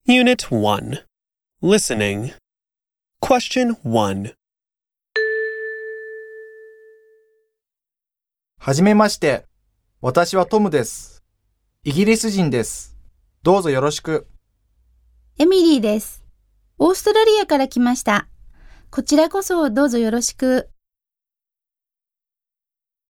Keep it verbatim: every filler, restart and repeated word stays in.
Unit one. Listening. Question one. はじめまして。私はトムです。イギリス人です。どうぞよろしく。 エミリーです。オーストラリアから来ました。こちらこそどうぞよろしく。